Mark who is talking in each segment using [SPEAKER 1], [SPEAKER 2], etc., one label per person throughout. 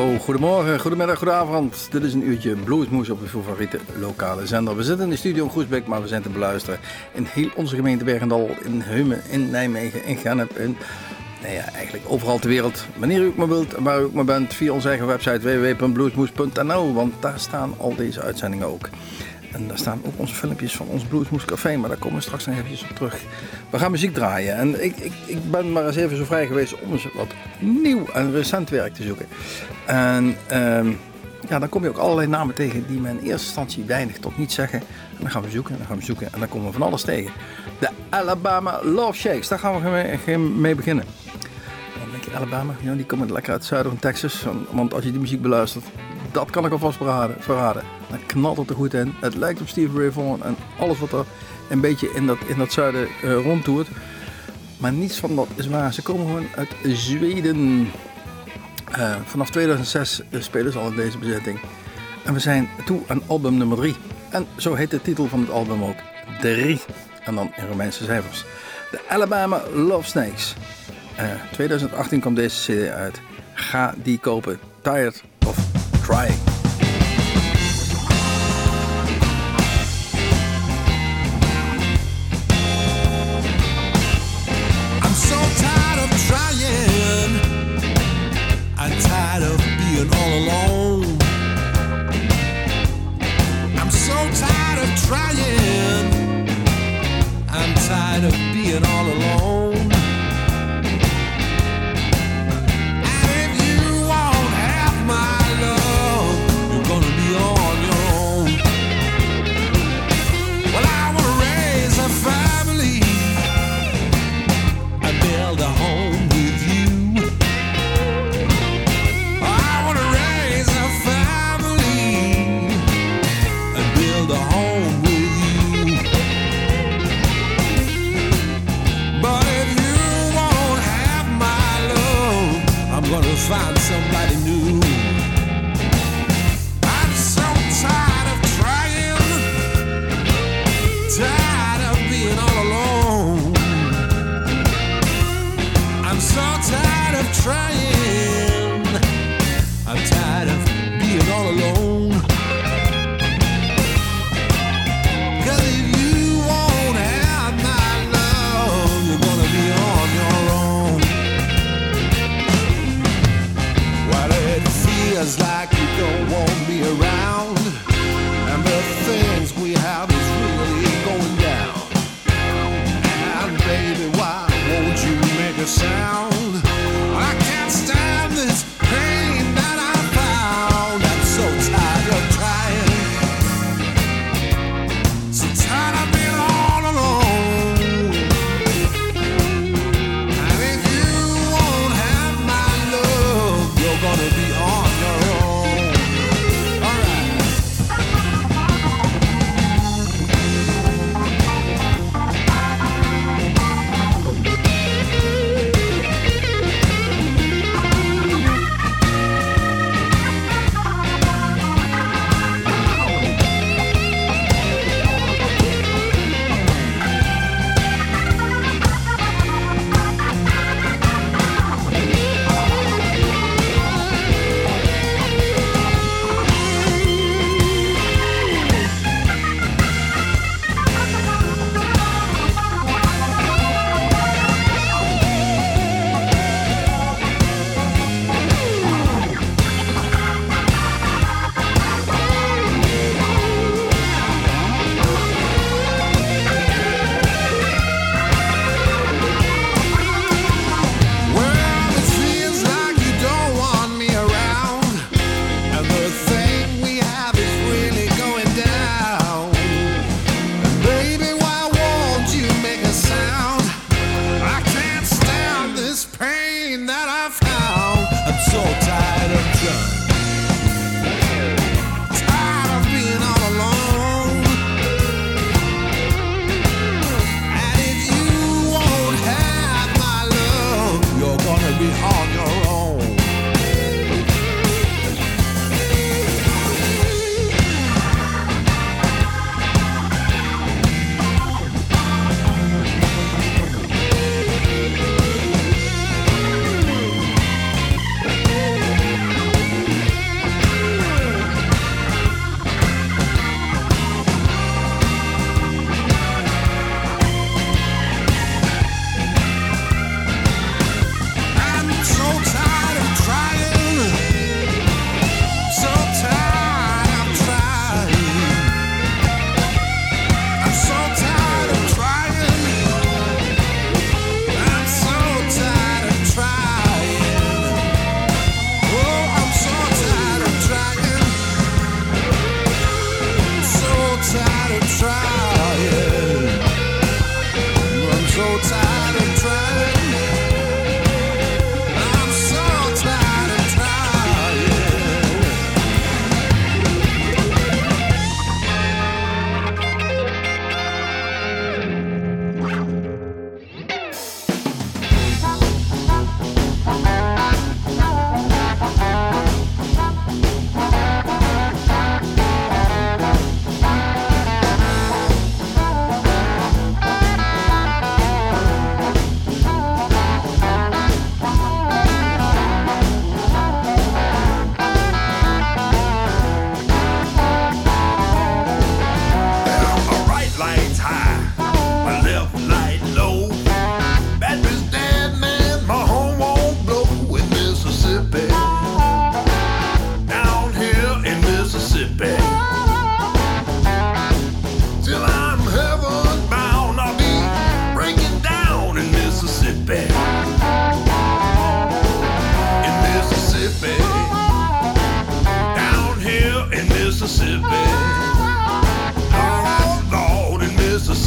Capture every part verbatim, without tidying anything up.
[SPEAKER 1] Hallo, goedemorgen, goedemiddag, goedenavond. Dit is een uurtje Bluesmoes op uw favoriete lokale zender. We zitten in de studio in Groesbeek, maar we zijn te beluisteren in heel onze gemeente Bergendal, in Heumen, in Nijmegen, in Gennep, in nou ja, eigenlijk overal ter wereld. Wanneer u ook maar wilt en waar u ook maar bent, via onze eigen website w w w punt bluesmoes punt n l, want daar staan al deze uitzendingen ook. En daar staan ook onze filmpjes van ons Bluesmoes Café, maar daar komen we straks nog eventjes op terug. We gaan muziek draaien en ik, ik, ik ben maar eens even zo vrij geweest om eens wat nieuw en recent werk te zoeken. En um, ja, dan kom je ook allerlei namen tegen die me in eerste instantie weinig tot niet zeggen. En dan gaan we zoeken en dan gaan we zoeken en dan komen we van alles tegen. De Alabama Love Shakes, daar gaan we mee, mee beginnen. En dan denk je, Alabama, ja, die komen lekker uit het zuiden van Texas. Want als je die muziek beluistert, dat kan ik alvast verraden. verraden. Dan knalt het er goed in. Het lijkt op Stevie Ray Vaughan en alles wat er een beetje in dat, in dat zuiden uh, rondtoert. Maar niets van dat is waar. Ze komen gewoon uit Zweden. Uh, vanaf tweeduizend zes uh, spelen ze al in deze bezetting. En we zijn toe aan album nummer drie. En zo heet de titel van het album ook. drie. En dan in Romeinse cijfers. De Alabama Love Snakes. Uh, tweeduizend achttien kwam deze cd uit. Ga die kopen. Tired of Trying.
[SPEAKER 2] I'm tired of being all alone. I'm so tired of trying. I'm tired of being all alone. And if you won't have my love, you're gonna be on your own. Well, I wanna raise a family and build a home with you. Find somebody new. I'm so tired of trying, tired of being all alone. I'm so tired of trying, I'm tired of being all alone. 'Cause if you won't have my love, you're gonna be on your own. Feels like you don't want me around, and the things we have is really going down. And baby, why won't you make a sound? I can't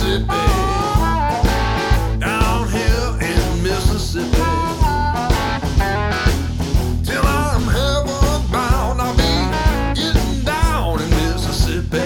[SPEAKER 2] Mississippi. Down here in Mississippi. Till I'm heaven bound, I'll be getting down in Mississippi.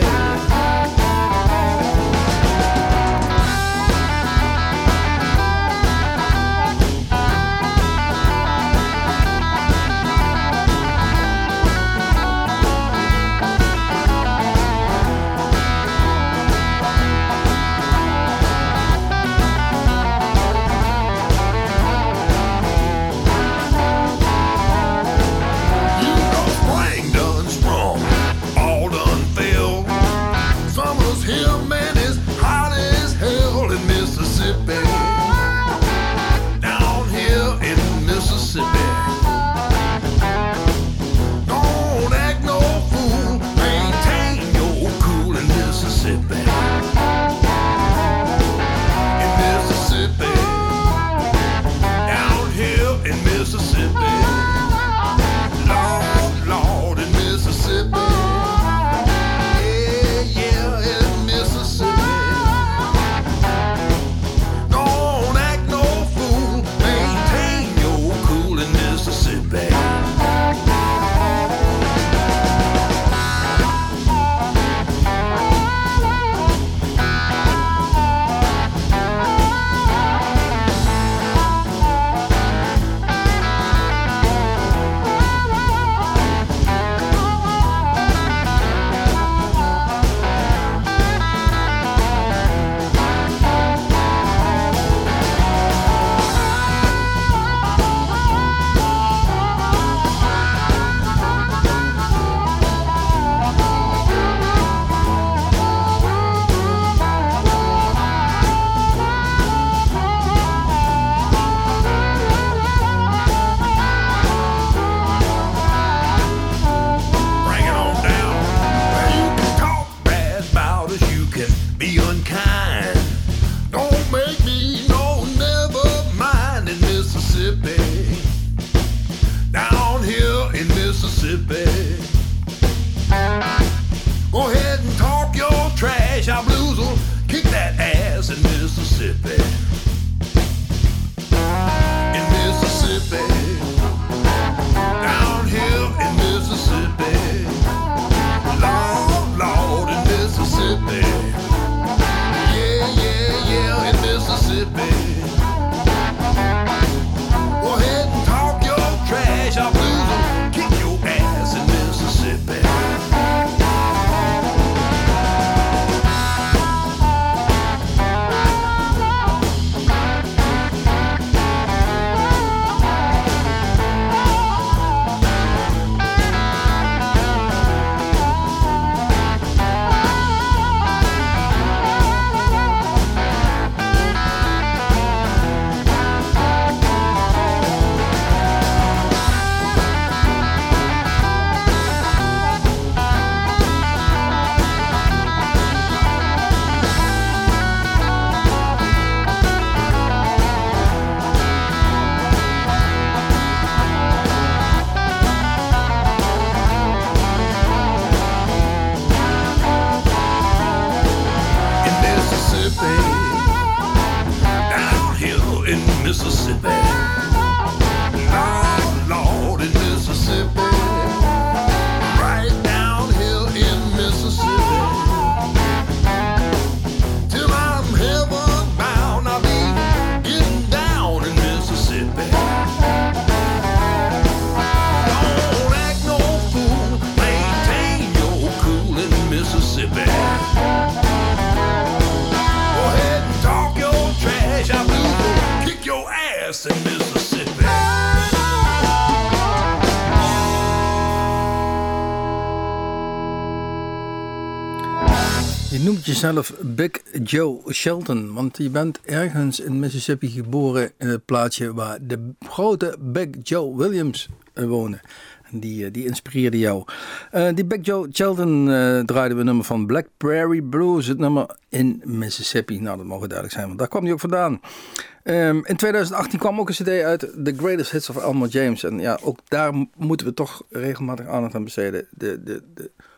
[SPEAKER 1] Je noemt jezelf Big Joe Shelton, want je bent ergens in Mississippi geboren in het plaatsje waar de grote Big Joe Williams woonde. En die, die inspireerde jou. Uh, die Big Joe Shelton uh, draaide we een nummer van Black Prairie Blues, het nummer in Mississippi. Nou, dat mogen duidelijk zijn, want daar kwam hij ook vandaan. Um, in twintig achttien kwam ook een cd uit, The Greatest Hits of Elmore James. En ja, ook daar moeten we toch regelmatig aandacht aan besteden. De, de, de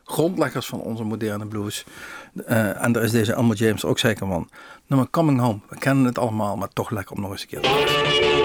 [SPEAKER 1] grondleggers van onze moderne blues. Uh, en daar is deze Elmore James ook zeker van. Nummer Coming Home. We kennen het allemaal, maar toch lekker om nog eens een keer te luisteren.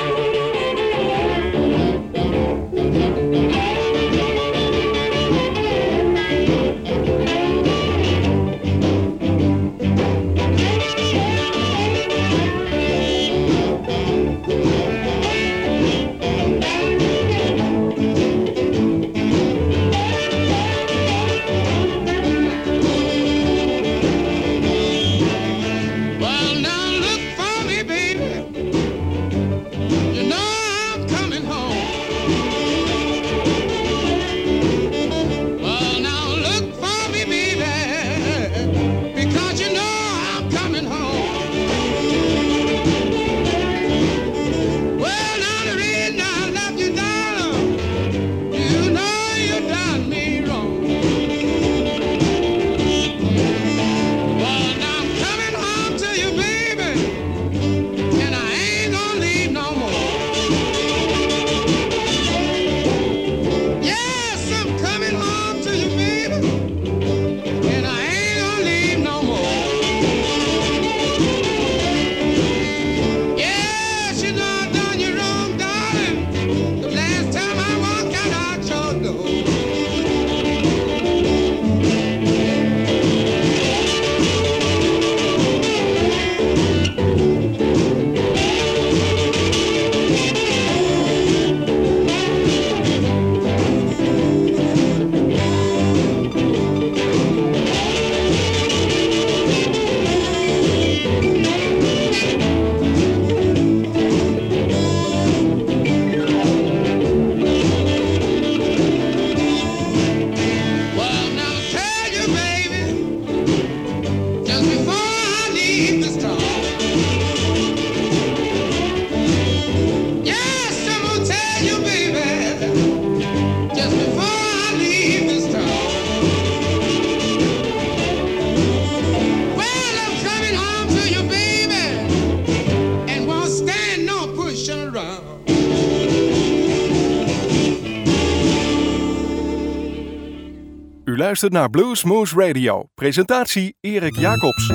[SPEAKER 3] U luistert naar Bluesmoose Radio. Presentatie Erik Jacobs.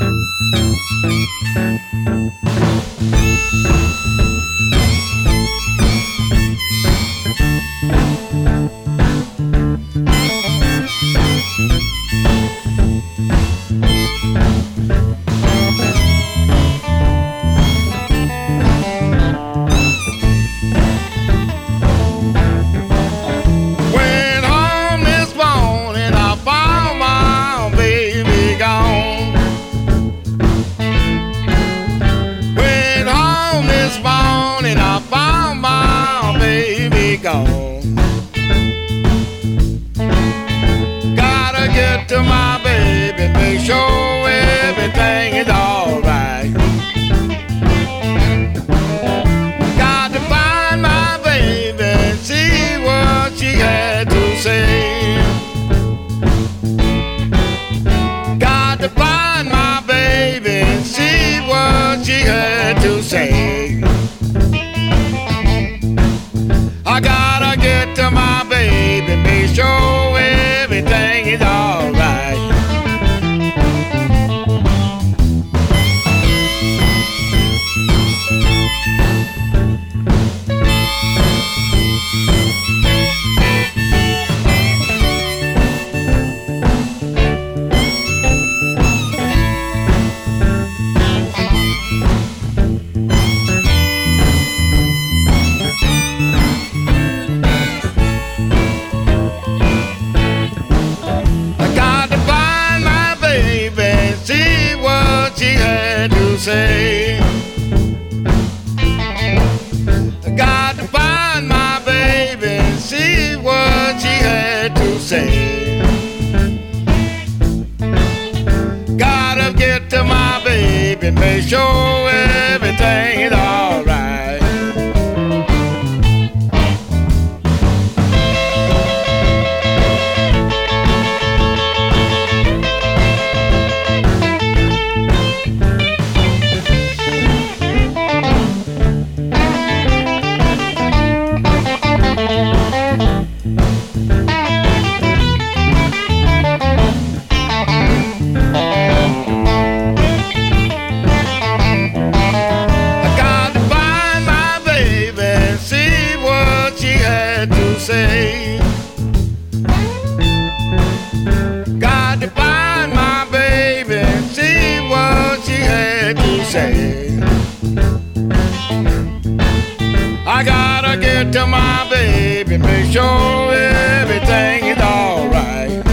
[SPEAKER 2] Gotta get to my baby, make sure everything is alright. Got to find my baby and see what she had to say. Got to find my baby and see what she had to say. I gotta get to my baby, make sure everything is alright. Say, I got to find my baby and see what she had to say. Gotta get to my baby, make sure everything is alright.
[SPEAKER 4] say. I gotta get to my baby, make sure everything is alright.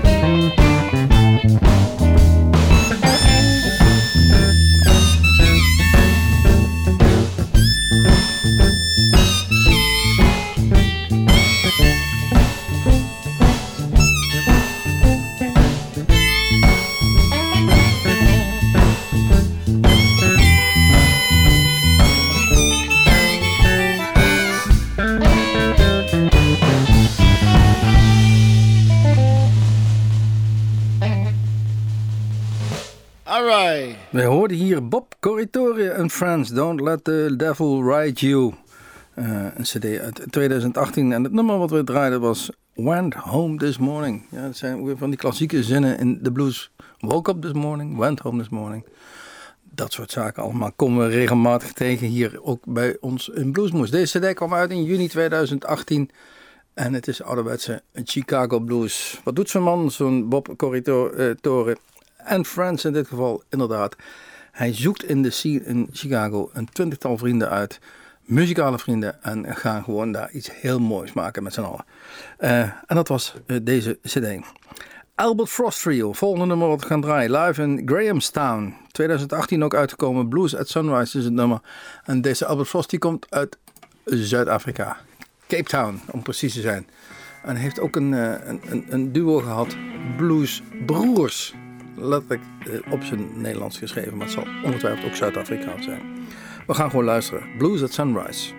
[SPEAKER 1] We hoorden hier Bob Corritore en Friends, Don't Let the Devil Ride You. Uh, een cd uit twintig achttien en het nummer wat we draaiden was Went Home This Morning. Ja, dat zijn weer van die klassieke zinnen in de blues. Woke up this morning, went home this morning. Dat soort zaken allemaal komen we regelmatig tegen hier ook bij ons in Bluesmoes. Deze cd kwam uit in juni twintig achttien en het is ouderwetse Chicago Blues. Wat doet zo'n man, zo'n Bob Corritore en Friends in dit geval inderdaad? Hij zoekt in de scene in Chicago een twintigtal vrienden uit, muzikale vrienden, en gaan gewoon daar iets heel moois maken met z'n allen. Uh, en dat was uh, deze cd. Albert Frost Trio, volgende nummer wat we gaan draaien, live in Grahamstown. twintig achttien ook uitgekomen, Blues at Sunrise is het nummer. En deze Albert Frost die komt uit Zuid-Afrika, Cape Town om precies te zijn. En heeft ook een, uh, een, een, een duo gehad, Blues Broers. Letterlijk uh, op zijn Nederlands geschreven, maar het zal ongetwijfeld ook Zuid-Afrikaans zijn. We gaan gewoon luisteren. Blues at Sunrise.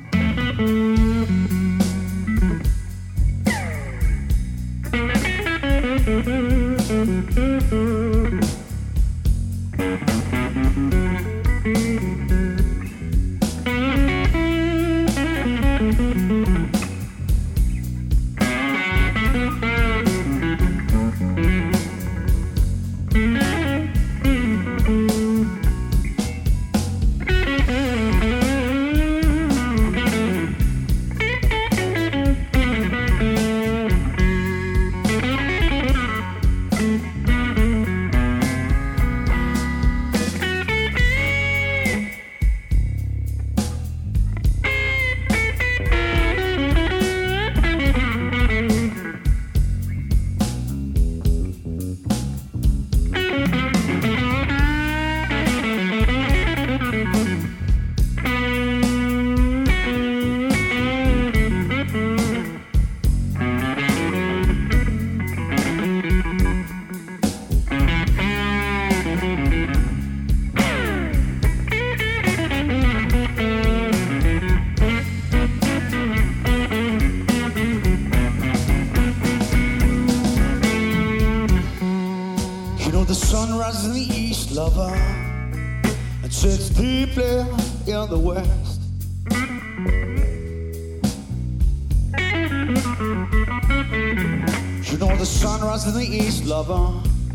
[SPEAKER 2] Lover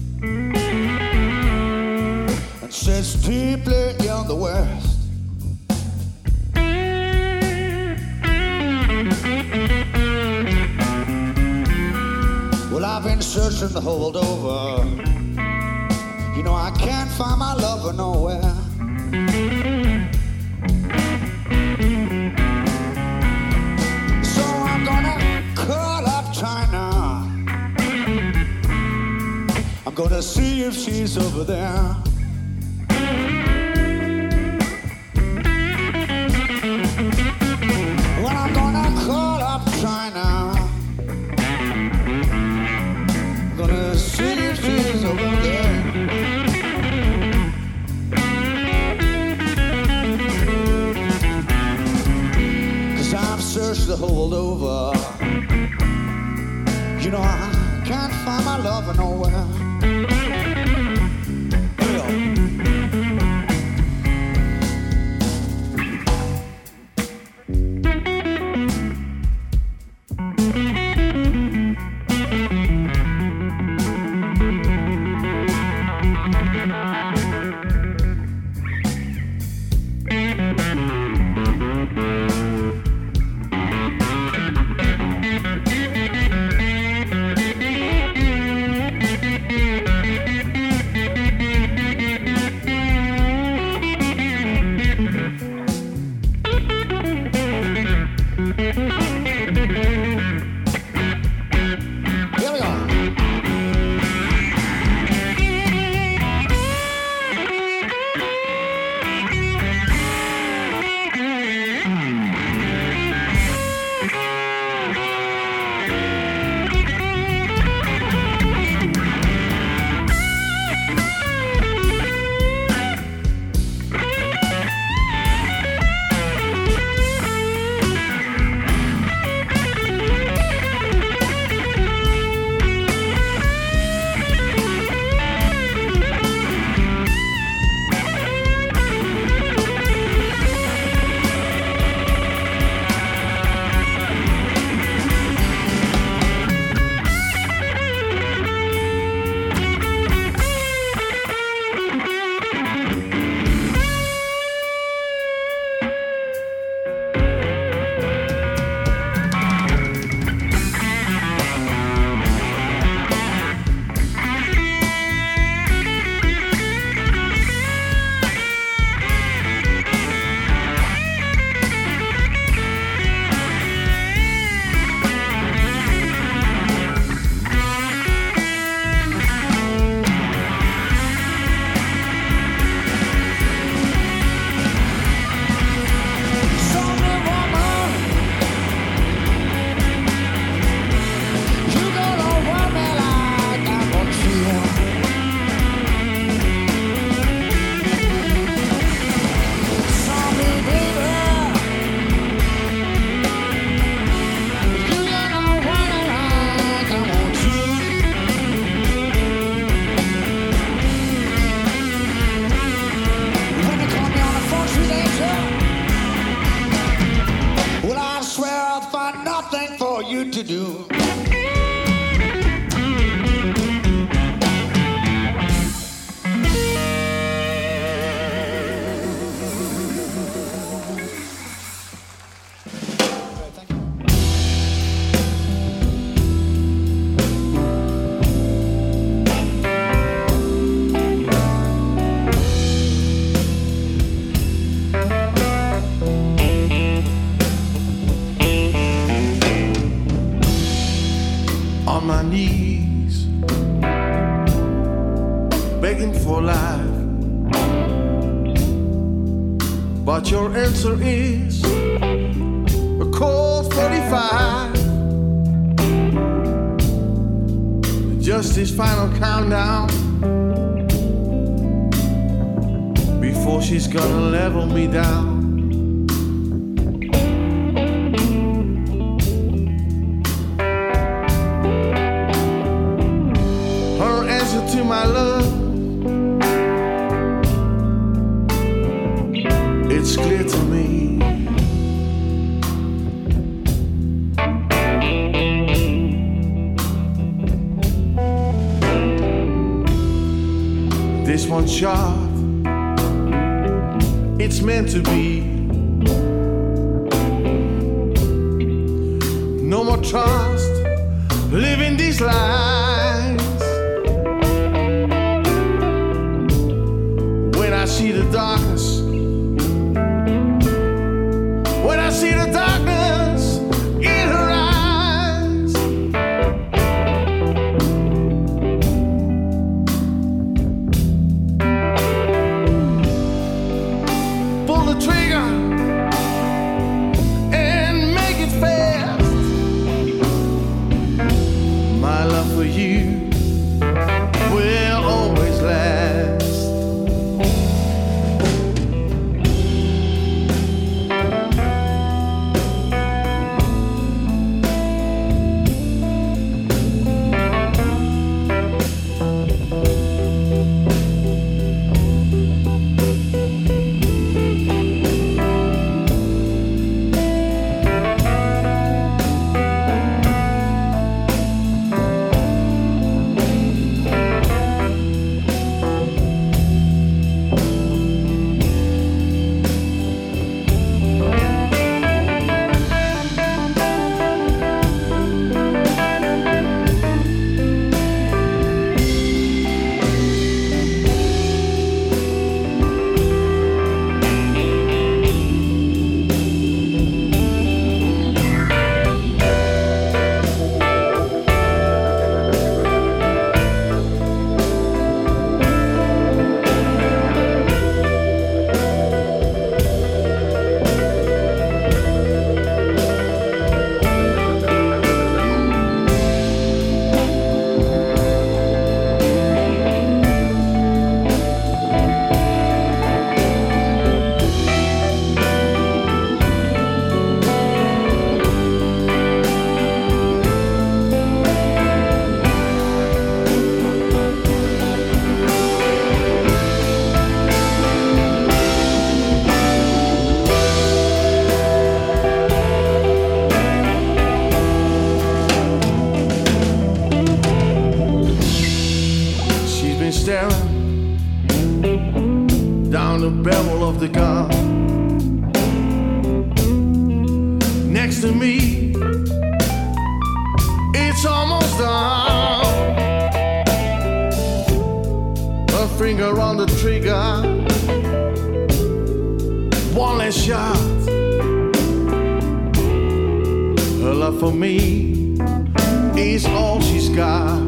[SPEAKER 2] and sits deeply in the west. Well, I've been searching the whole world over. You know, I can't find my lover nowhere. So I'm gonna call up China. I'm gonna see if she's over there. Well, I'm gonna call up China. I'm gonna see if she's over there. Cause I've searched the whole world over. You know, I can't find my lover nowhere.
[SPEAKER 5] Thank you.
[SPEAKER 2] you do.
[SPEAKER 5] But your answer is a cold forty-five. Just this final countdown before she's gonna level me down. Her answer to my love, it's clear to me. This one shot, it's meant to be. No more trust, living these lies. When I see the darkness, when I see the darkness in her eyes, pull the trigger and make it fast. My love for you will always last. Down the barrel of the gun next to me, it's almost done. Her finger on the trigger, one less shot. Her love for me is all she's got.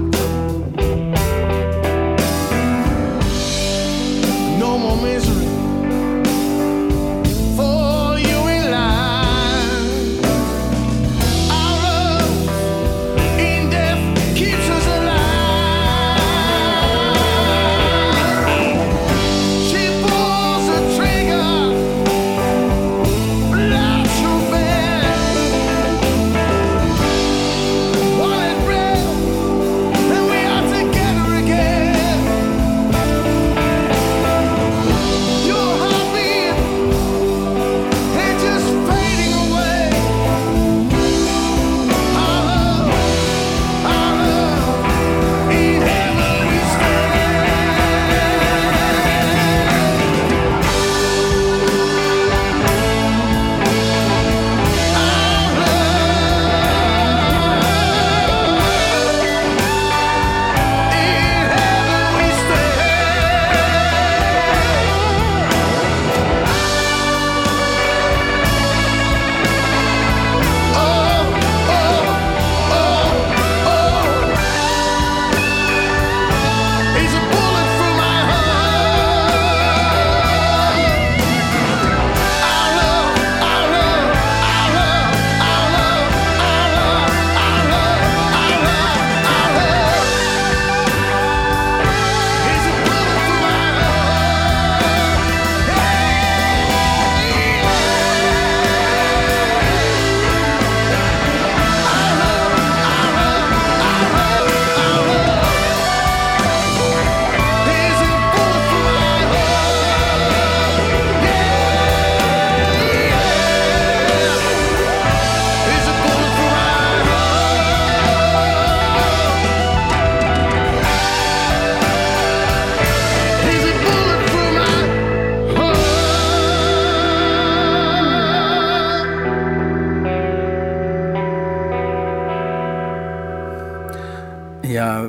[SPEAKER 5] No more misery for you in life. Our love in death keeps us alive. She pulls the trigger, blood so bad. While it breath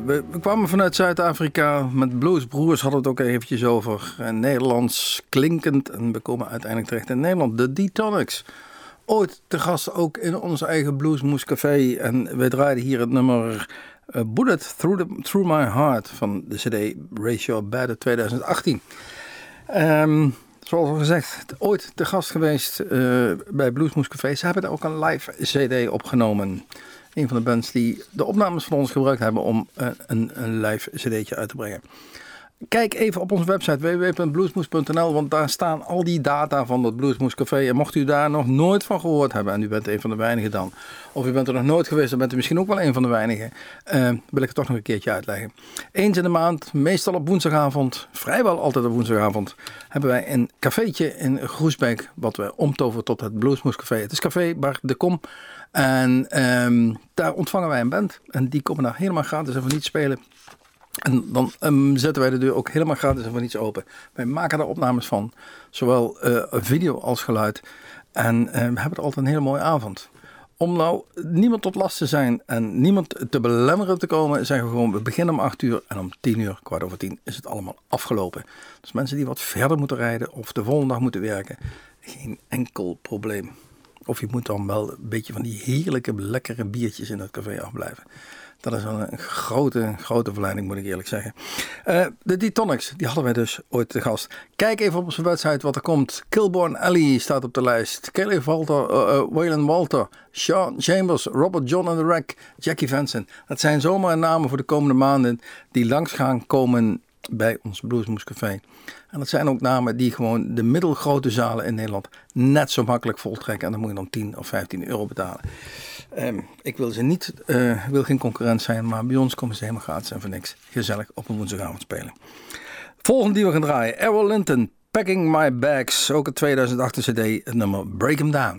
[SPEAKER 1] we, we kwamen vanuit Zuid-Afrika. Met Bluesbroers hadden we het ook eventjes over. En Nederlands klinkend. En we komen uiteindelijk terecht in Nederland. De D-Tonics. Ooit te gast ook in ons eigen Bluesmoes Café. En wij draaiden hier het nummer uh, Bullet Through, the, Through My Heart van de cd Ratio Bad uit twintig achttien. Um, zoals al gezegd, ooit te gast geweest uh, bij Bluesmoes Café. Ze hebben daar ook een live cd opgenomen. Een van de bands die de opnames van ons gebruikt hebben om uh, een, een live cd'tje uit te brengen. Kijk even op onze website w w w punt bluesmoes punt n l, want daar staan al die data van dat Bluesmoes Café. En mocht u daar nog nooit van gehoord hebben, en u bent een van de weinigen dan, of u bent er nog nooit geweest, dan bent u misschien ook wel een van de weinigen, uh, wil ik het toch nog een keertje uitleggen. Eens in de maand, meestal op woensdagavond, vrijwel altijd op woensdagavond, hebben wij een cafeetje in Groesbeek, wat we omtoveren tot het Bluesmoes Café. Het is Café Bar de Kom. En um, daar ontvangen wij een band. En die komen daar helemaal gratis en voor niets spelen. En dan um, zetten wij de deur ook helemaal gratis en voor niets open. Wij maken daar opnames van. Zowel uh, video als geluid. En uh, we hebben er altijd een hele mooie avond. Om nou niemand tot last te zijn en niemand te belemmeren te komen, zeggen we gewoon, we beginnen om acht uur en om tien uur, kwart over tien, is het allemaal afgelopen. Dus mensen die wat verder moeten rijden of de volgende dag moeten werken, geen enkel probleem. Of je moet dan wel een beetje van die heerlijke, lekkere biertjes in het café afblijven. Dat is een grote, grote verleiding, moet ik eerlijk zeggen. Uh, de D-Tonics, die hadden wij dus ooit te gast. Kijk even op onze website wat er komt. Kilborn Alley staat op de lijst. Kelly Walter, uh, uh, Waylon Walter, Sean Chambers, Robert John and the Wreck, Jackie Vanson. Dat zijn zomaar namen voor de komende maanden die langs gaan komen bij ons Bluesmoes Café. En dat zijn ook namen die gewoon de middelgrote zalen in Nederland net zo makkelijk voltrekken. En dan moet je dan tien of vijftien euro betalen. Um, ik wil ze niet, uh, wil geen concurrent zijn, maar bij ons komen ze helemaal gratis en voor niks. Gezellig op een woensdagavond spelen. Volgende die we gaan draaien, Errol Linton, Packing My Bags. Ook een tweeduizend acht cd, het nummer Break 'em Down.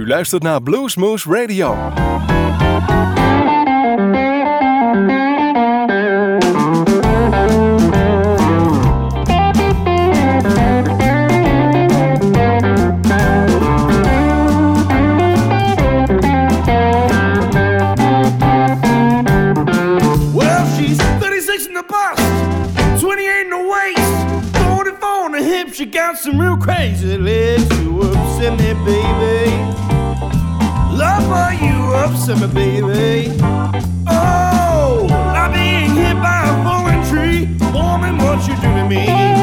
[SPEAKER 3] luistert naar Bluesmoose Radio.
[SPEAKER 5] She got some real crazy legs. You upset me, baby. Lover, you upset me, baby. Oh, I'm being hit by a falling tree. Woman, what you do to me?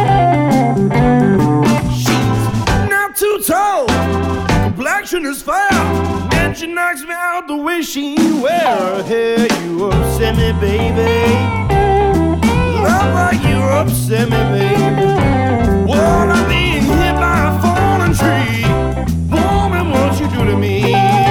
[SPEAKER 5] She's not too tall, complexion is foul, and she knocks me out the way she wear her hair. You upset me, baby. Lover, you upset me, baby. Well, I'm being hit by a falling tree. Woman, what you do to me?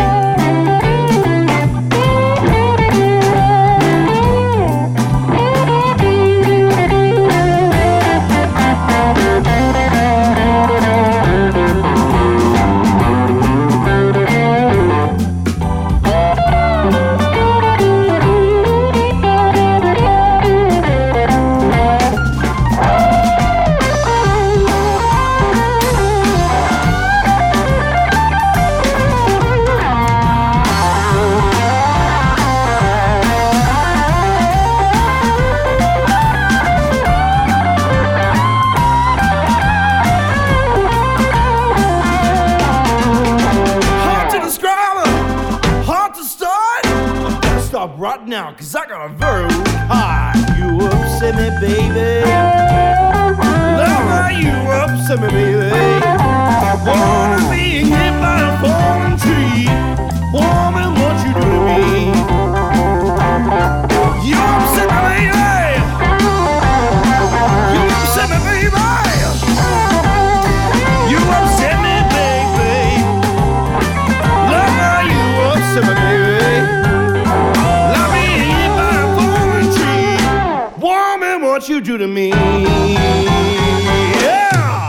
[SPEAKER 5] Right now, cause I got a very weak heart. You upset me, baby. Lover, you upset me, baby. Wanna be hit by a falling tree. Woman, what you do to me? You upset me, baby. You upset me, baby. You upset me, baby. Lover, you upset me, baby. What you do to me? Yeah.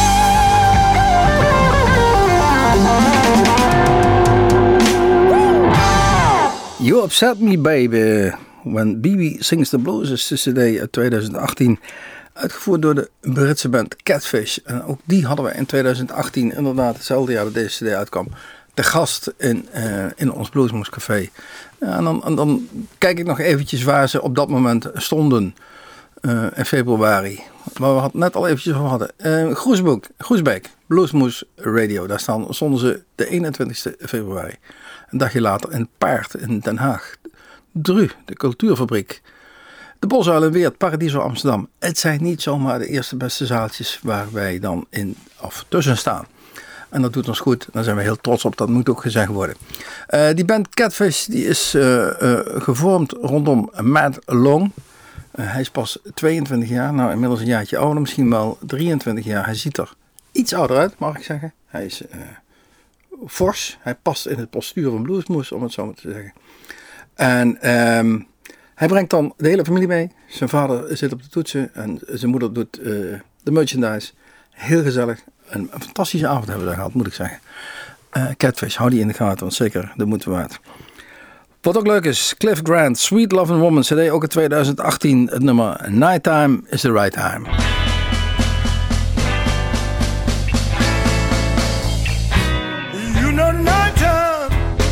[SPEAKER 1] You Upset Me Baby, When B B Sings the Blues is de C D uit twintig achttien, uitgevoerd door de Britse band Catfish. En ook die hadden we in twintig achttien, inderdaad hetzelfde jaar dat deze C D uitkwam, te gast in, uh, in ons Bluesmoose Café. Ja, en, dan, en dan kijk ik nog eventjes waar ze op dat moment stonden. Uh, in februari. Maar we hadden net al eventjes over hadden. Uh, Groesbeek, Groesbeek, Bluesmoose Radio. Daar staan, stonden ze de eenentwintigste februari. Een dagje later in Paard in Den Haag. Dru, de cultuurfabriek. De Bosuil in Weert, Paradiso Amsterdam. Het zijn niet zomaar de eerste beste zaaltjes waar wij dan in of tussen staan. En dat doet ons goed. Daar zijn we heel trots op. Dat moet ook gezegd worden. Uh, die band Catfish die is uh, uh, gevormd rondom Matt Long. Uh, hij is pas tweeëntwintig jaar, nou inmiddels een jaartje ouder, misschien wel drieëntwintig jaar. Hij ziet er iets ouder uit, mag ik zeggen. Hij is uh, fors, hij past in het postuur van Bluesmoose, om het zo maar te zeggen. En um, hij brengt dan de hele familie mee. Zijn vader zit op de toetsen en zijn moeder doet uh, de merchandise. Heel gezellig, een, een fantastische avond hebben we daar gehad, moet ik zeggen. Uh, Catfish, hou die in de gaten, want zeker de moeite waard. Wat ook leuk is, Cliff Grant, Sweet Lovin' Woman, C D ook in twintig achttien, het nummer Nighttime is the Right Time.
[SPEAKER 5] You know nighttime,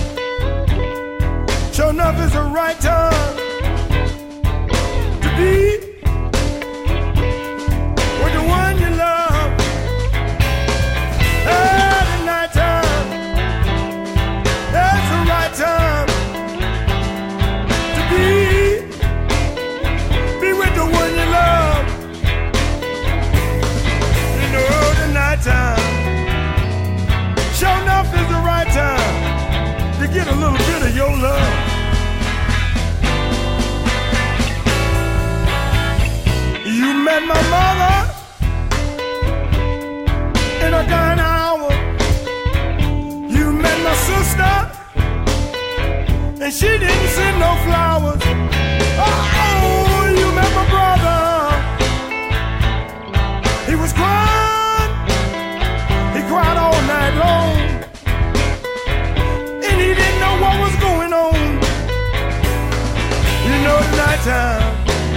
[SPEAKER 5] sure enough is the right time to be with the one you love. At the nighttime, that's the right time. Be, be with the one you love in the early night time. Sure enough is the right time to get a little bit of your love. You met my mother in a dying hour. You met my sister and she didn't send no flowers. Oh, you met my brother. He was crying. He cried all night long. time.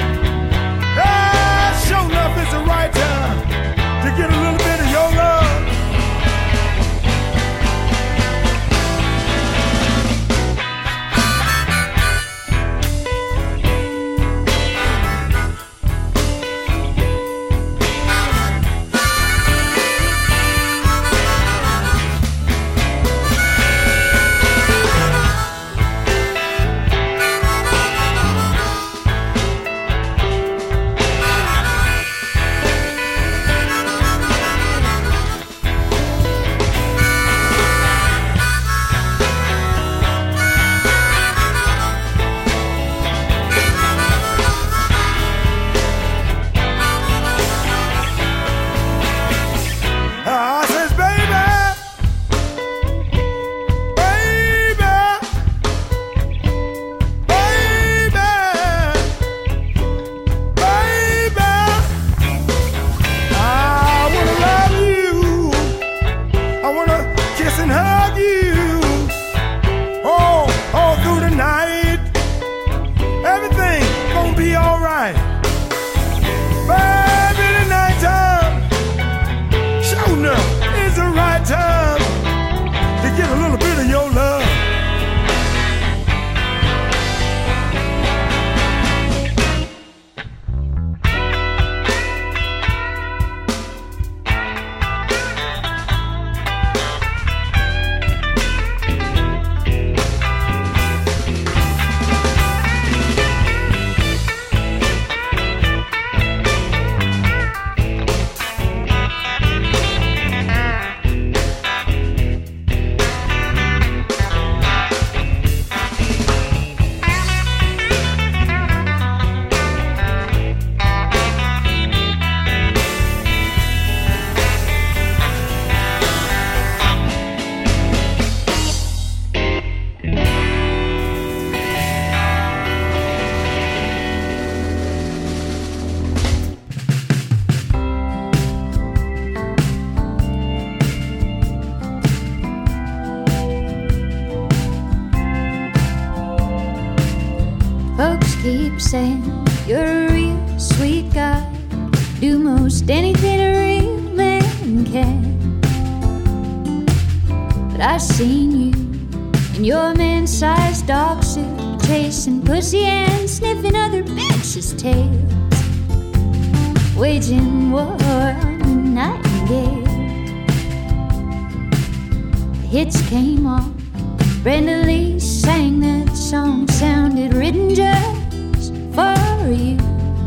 [SPEAKER 5] Ah, sure enough, it's the right time to get a little bit of your love.
[SPEAKER 6] Keep saying you're a real sweet guy, do most anything a real man can. But I've seen you in your man-sized dog suit, chasing pussy and sniffing other bitches' tails, waging war on the nightingale. The hits came on, Brenda Lee sang that song, sounded written just for you,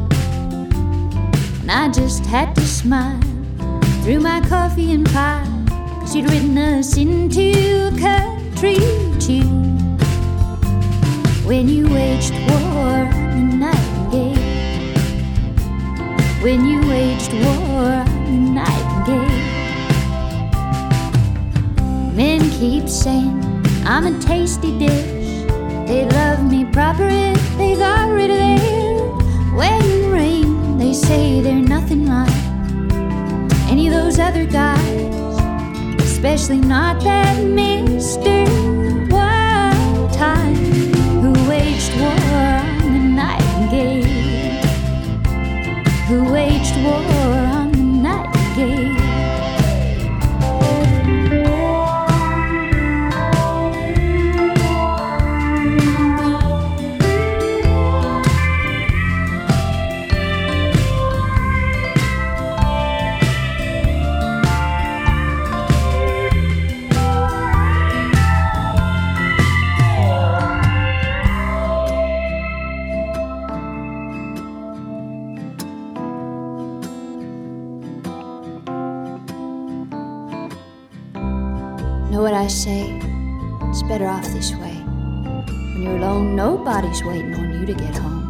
[SPEAKER 6] and I just had to smile through my coffee and pie, 'cause you'd written us into a country tune when you waged war on the nightingale, when you waged war on the nightingale. Men keep saying I'm a tasty dish, they love me proper if they got rid of their wedding ring. They say they're nothing like any of those other guys, especially not that Mister Wild Time who waged war on the nightingale, who waged war on the nightingale. Know what I say? It's better off this way. When you're alone, nobody's waiting on you to get home.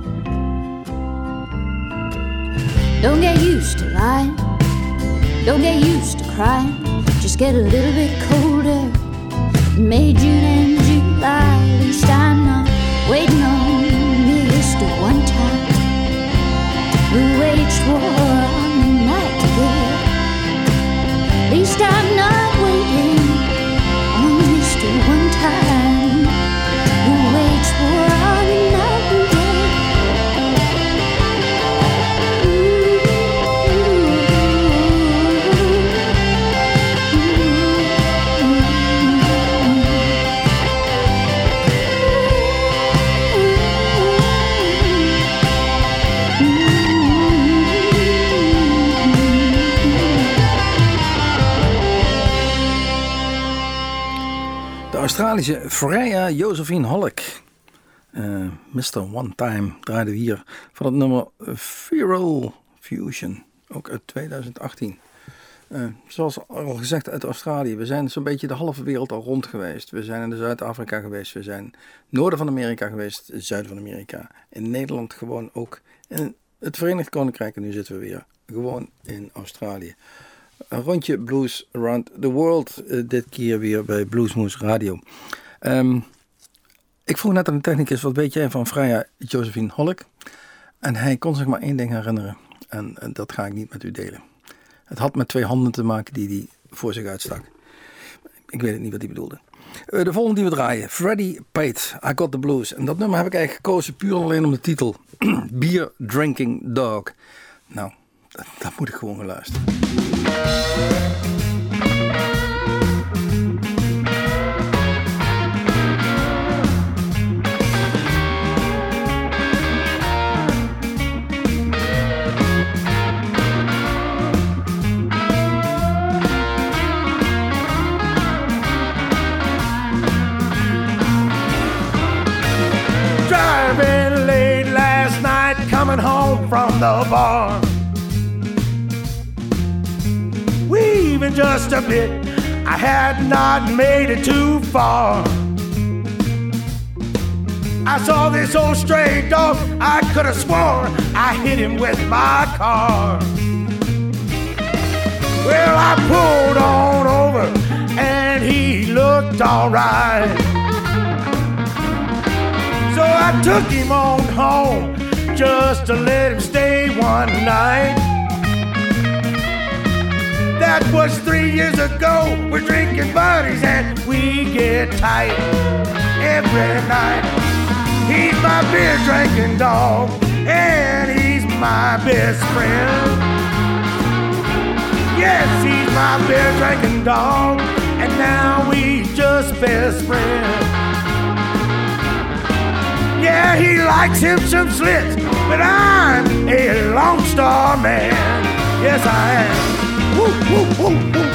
[SPEAKER 6] Don't get used to lying, don't get used to crying. Just get a little bit colder in May, June and July. At least I'm not waiting on Mister One Time who waged war on the nightingale. At least I'm not waiting on Mister One Time who waged war on the nightingale.
[SPEAKER 1] Australische Freya Josephine Hollick. Uh, mister One Time draaiden we hier van het nummer Feral Fusion, ook uit twintig achttien. Uh, zoals al gezegd, uit Australië. We zijn zo'n beetje de halve wereld al rond geweest. We zijn in Zuid-Afrika geweest. We zijn noorden van Amerika geweest. Zuiden van Amerika. In Nederland gewoon ook. In het Verenigd Koninkrijk. En nu zitten we weer gewoon in Australië. Een rondje Blues Around the World. Uh, dit keer weer bij Bluesmoose Radio. Um, ik vroeg net aan de technicus, wat weet jij van Freya Josephine Hollick? En hij kon zich maar één ding herinneren. En, en dat ga ik niet met u delen. Het had met twee handen te maken die hij voor zich uitstak. Ik weet het niet wat hij bedoelde. Uh, de volgende die we draaien. Freddie Pate, I Got The Blues. En dat nummer heb ik eigenlijk gekozen puur alleen om de titel. Beer Drinking Dog. Nou, dat, dat moet ik gewoon gaan luisteren.
[SPEAKER 5] Driving late last night, coming home from the bar. Weaving just a bit, I had not made it too far. I saw this old stray dog, I could have sworn I hit him with my car. Well, I pulled on over and he looked alright. So I took him on home just to let him stay one night. That was three years ago. We're drinking buddies and we get tight every night. He's my beer drinking dog and he's my best friend. Yes, he's my beer drinking dog and now we just best friends. Yeah, he likes him some slits, but I'm a Lone Star man. Yes, I am. Woo, woo, woo, woo.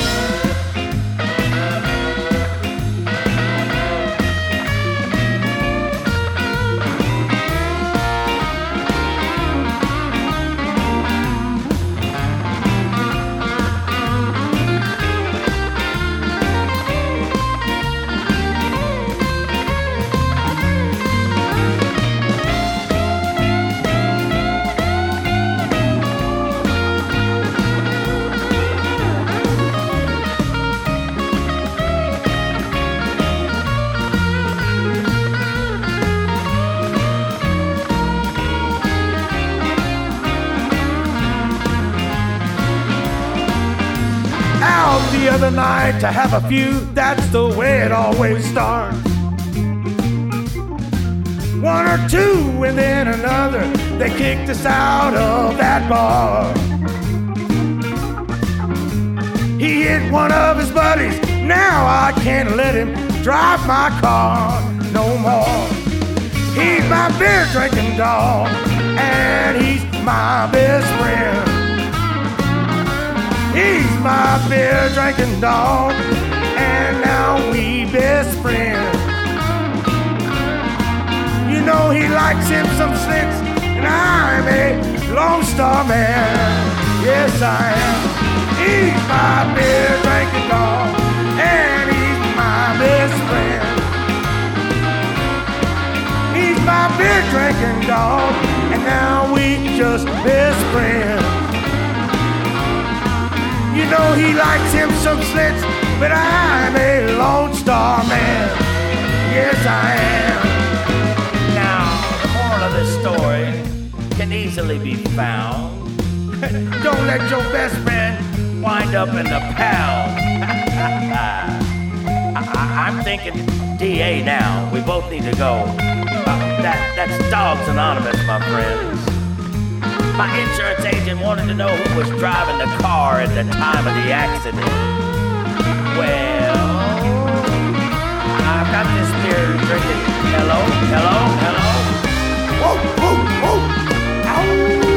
[SPEAKER 5] The other night to have a few, that's the way it always starts. One or two and then another, they kicked us out of that bar. He hit one of his buddies, now I can't let him drive my car no more. He's my beer drinking dog and he's my best friend. He's my beer drinking dog, and now we best friends. You know he likes him some slits, and I'm a Lone Star man. Yes, I am. He's my beer drinking dog, and he's my best friend. He's my beer drinking dog, and now we just best friends. You know he likes him some slits, but I'm a Lone Star man. Yes, I am.
[SPEAKER 7] Now, the moral of this story can easily be found.
[SPEAKER 5] Don't let your best friend
[SPEAKER 7] Wind up in the pound. I, I'm thinking D A now. We both need to go. Uh, that, that's Dogs Anonymous, my friends. My insurance agent wanted to know who was driving the car at the time of the accident. Well, I've got this beer drinking. Hello, hello, hello.
[SPEAKER 5] Whoa, whoa, whoa. Ow.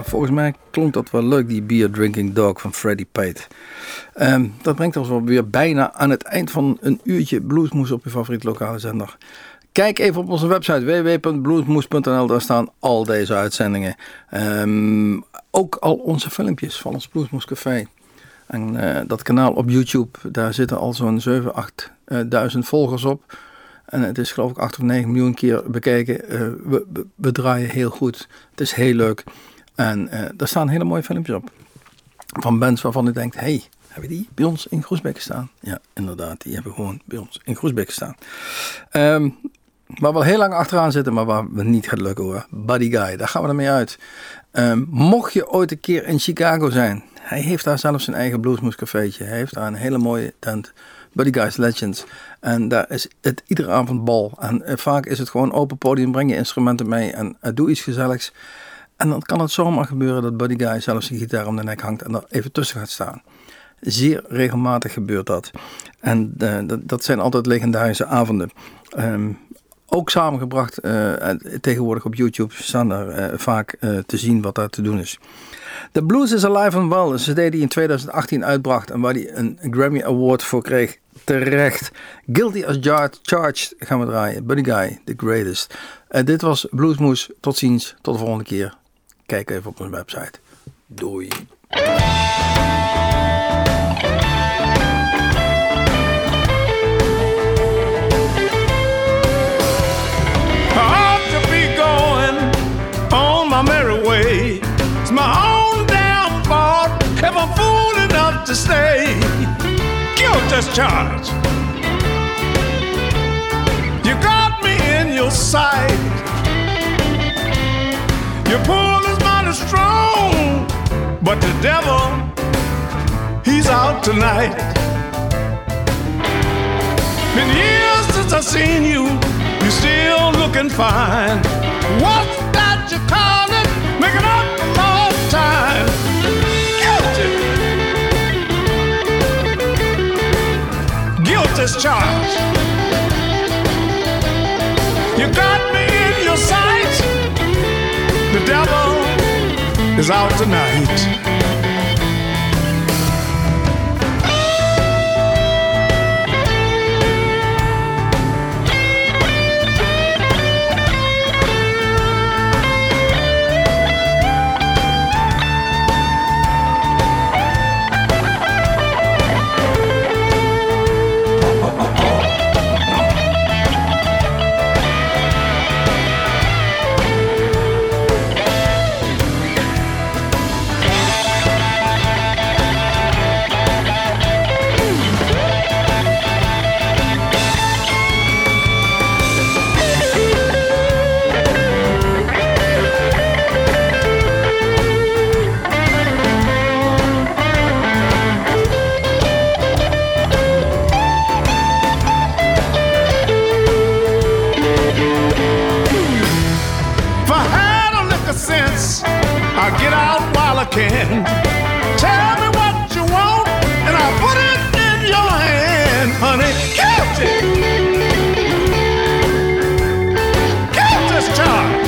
[SPEAKER 1] volgens mij klonk dat wel leuk, die Beer Drinking Dog van Freddie Pate. Um, dat brengt ons wel weer bijna aan het eind van een uurtje Bluesmoes op je favoriete lokale zender. Kijk even op onze website w w w punt bluesmoes punt n l, daar staan al deze uitzendingen. Um, ook al onze filmpjes van ons Bluesmoes Café. En uh, dat kanaal op YouTube, daar zitten al zo'n zeven, acht duizend volgers op. En het is geloof ik acht of negen miljoen keer bekeken. Uh, we, we, we draaien heel goed. Het is heel leuk. En uh, daar staan hele mooie filmpjes op. Van bands waarvan je denkt, hey, hebben die bij ons in Groesbeek staan? Ja, inderdaad, die hebben gewoon bij ons in Groesbeek staan. Um, waar we al heel lang achteraan zitten, maar waar we niet gaat lukken hoor. Buddy Guy, daar gaan we ermee uit. Um, mocht je ooit een keer in Chicago zijn, hij heeft daar zelfs zijn eigen Bluesmoes cafeetje. Hij heeft daar een hele mooie tent, Buddy Guy's Legends. En daar is het iedere avond bal. En uh, vaak is het gewoon open podium, breng je instrumenten mee en uh, doe iets gezelligs. En dan kan het zomaar gebeuren dat Buddy Guy zelfs zijn gitaar om de nek hangt en er even tussen gaat staan. Zeer regelmatig gebeurt dat. En uh, dat, dat zijn altijd legendarische avonden. Um, ook samengebracht, uh, tegenwoordig op YouTube staan er uh, vaak uh, te zien wat daar te doen is. The Blues is Alive and Well, een cd die in twintig achttien uitbracht en waar hij een Grammy Award voor kreeg. Terecht. Guilty as Charged gaan we draaien. Buddy Guy, the greatest. Uh, dit was Bluesmoes. Tot ziens. Tot de volgende keer. Kijk even op onze website. Doei.
[SPEAKER 5] My merry way, it's my own damn fault if I'm fool enough to stay. Guilt as charged. You got me in your sight. Your pull is mighty strong, but the devil, he's out tonight. Been years since I've seen you, you're still looking fine. What's that you call it? Making up more time. Guilty. Guilt is charged. You got me in your sight. The devil is out tonight. I'll get out while I can. Tell me what you want, and I'll put it in your hand, honey. Guilty. Guilt is charged.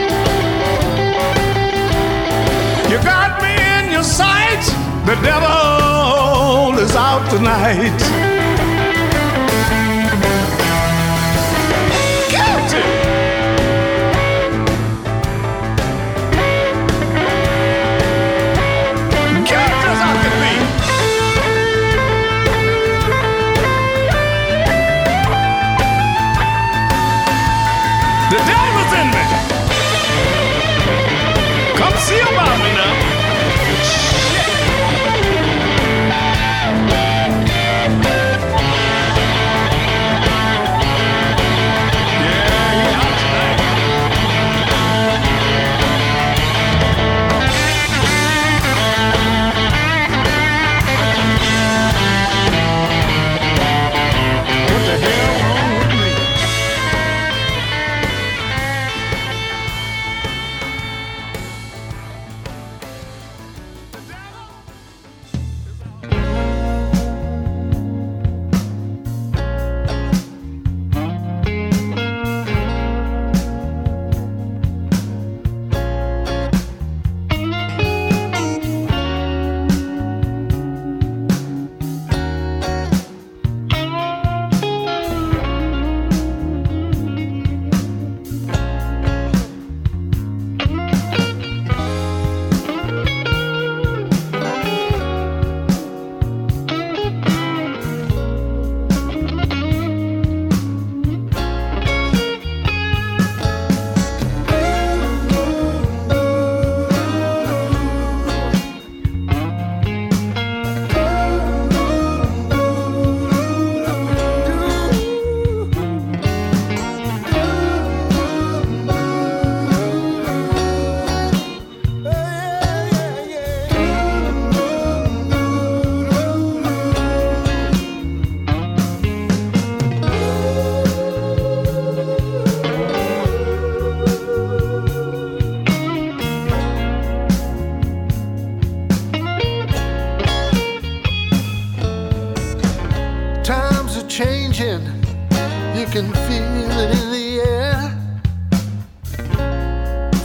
[SPEAKER 5] You got me in your sight. The devil is out tonight. See about me now. Shit.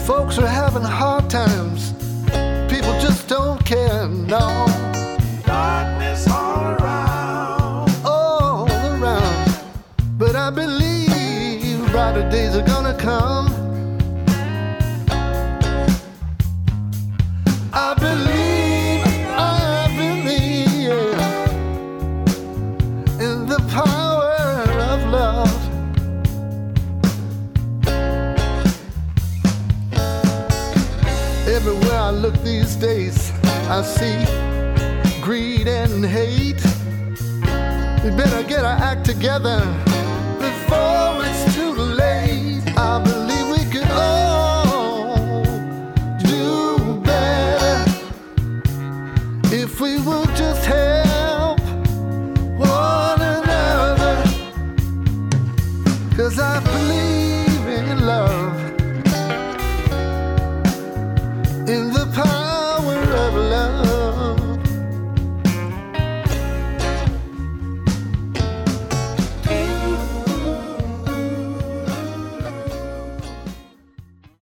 [SPEAKER 8] Folks are having hard times. People just don't care, no.
[SPEAKER 5] Darkness all around.
[SPEAKER 8] All around. But I believe brighter days are gonna come. I believe, I believe in the power of love. Everywhere I look these days, I see greed and hate. We better get our act together before